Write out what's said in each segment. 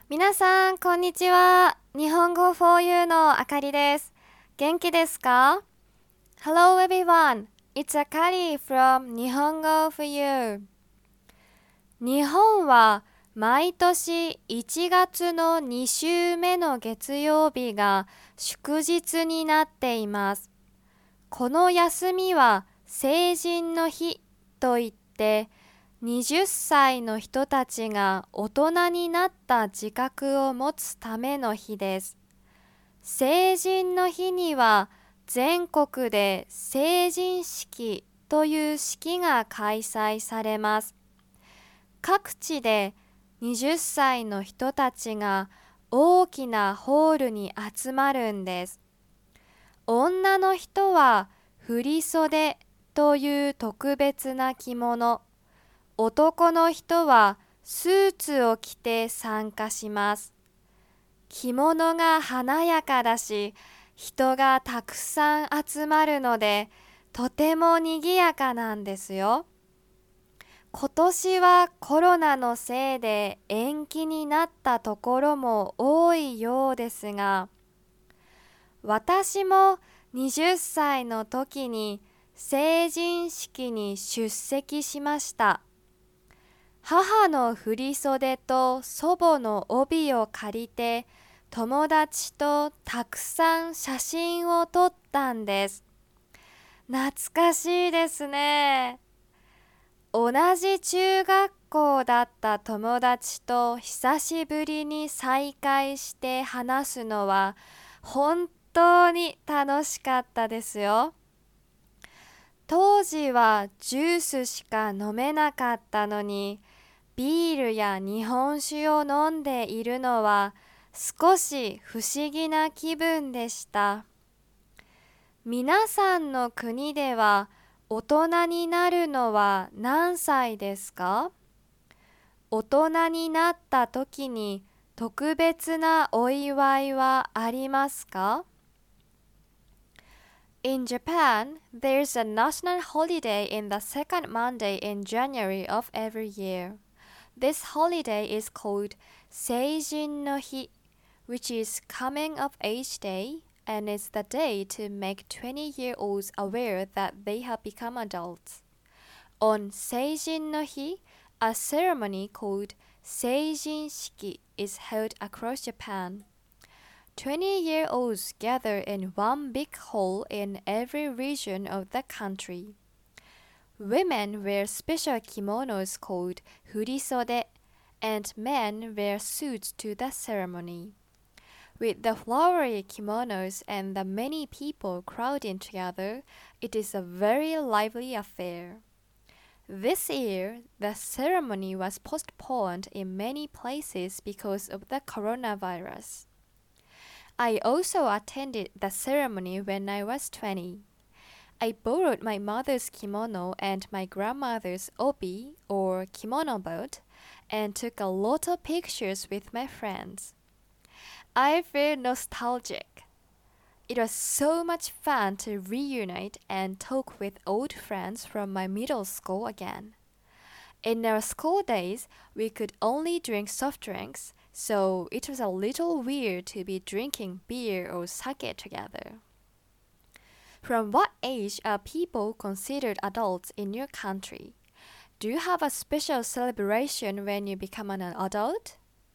皆さん、こんにちは。日本語 for you のあかりです。元気ですか？ Hello everyone. It's Akari from 日本語 for you. 日本は毎年1月の2週目の月曜日が祝日になっています。この休みは成人の日といって、20歳の人たちが大人になった自覚を持つための日です。成人の日には全国で成人式という式が開催されます。各地で20歳の人たちが大きなホールに集まるんです。女の人は振袖という特別な着物、男の人はスーツを着て参加します。着物が華やかだし、人がたくさん集まるので、とても賑やかなんですよ。今年はコロナのせいで延期になったところも多いようですが、私も20歳の時に成人式に出席しました。母の振袖と祖母の帯を借りて友達とたくさん写真を撮ったんです。懐かしいですね。同じ中学校だった友達と久しぶりに再会して話すのは本当に楽しかったですよ。当時はジュースしか飲めなかったのに、ビールや日本酒を飲んでいるのは少し不思議な気分でした。皆さんの国では大人になるのは何歳ですか？大人になった時に特別なお祝いはありますか？ In Japan, there's a national holiday in the second Monday in January of every year. This holiday is called Seijin no Hi, which is Coming of Age Day, and it's the day to make 20-year-olds aware that they have become adults. On Seijin no Hi, a ceremony called Seijin Shiki is held across Japan. 20-year-olds gather in one big hall in every region of the country. Women wear special kimonos called furisode, and men wear suits to the ceremony. With the flowery kimonos and the many people crowding together, it is a very lively affair. This year, the ceremony was postponed in many places because of the coronavirus. I also attended the ceremony when I was 20. I borrowed my mother's kimono and my grandmother's obi or kimono boat and took a lot of pictures with my friends. I feel nostalgic. It was so much fun to reunite and talk with old friends from my middle school again. In our school days, we could only drink soft drinks, so it was a little weird to be drinking beer or sake together. From what age are people considered adults in your country? Do you have a special celebration when you become an adult?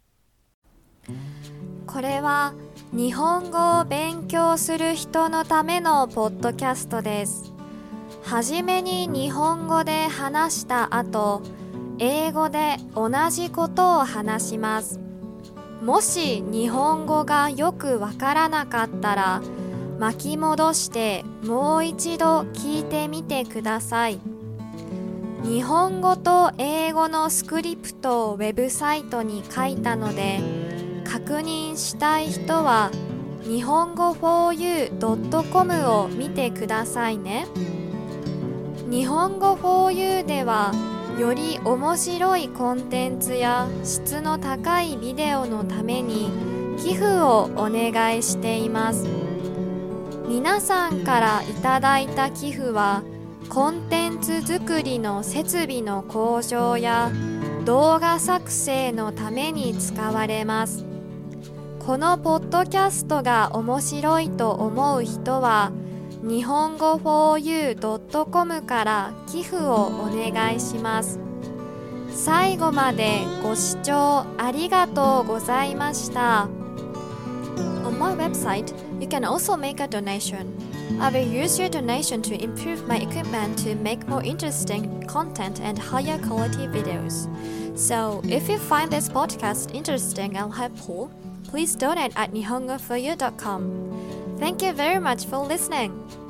これは日本語を勉強する人のためのポッドキャストです。はじめに日本語で話した後、英語で同じことを話します。もし日本語がよくわからなかったら、巻き戻してもう一度聞いてみてください。日本語と英語のスクリプトをウェブサイトに書いたので、確認したい人は日本語 4u.com を見てくださいね。日本語 4u ではより面白いコンテンツや質の高いビデオのために寄付をお願いしています。皆さんからいただいた寄付はコンテンツ作りの設備の向上や動画作成のために使われます。このポッドキャストが面白いと思う人は日本語 4u.com から寄付をお願いします。最後までご視聴ありがとうございました。On my website, you can also make a donation. I will use your donation to improve my equipment to make more interesting content and higher quality videos. So, if you find this podcast interesting and helpful, please donate at nihongoforyou.com. Thank you very much for listening.